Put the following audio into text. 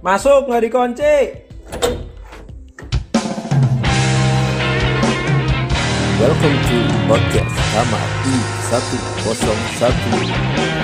Masuk nggak dikunci. Welcome to podcast Kamar I101.